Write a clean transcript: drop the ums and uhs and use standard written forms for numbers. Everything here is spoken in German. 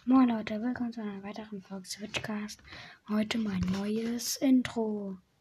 Moin Leute, willkommen zu einer weiteren Folge Switchcast. Heute mein neues Intro.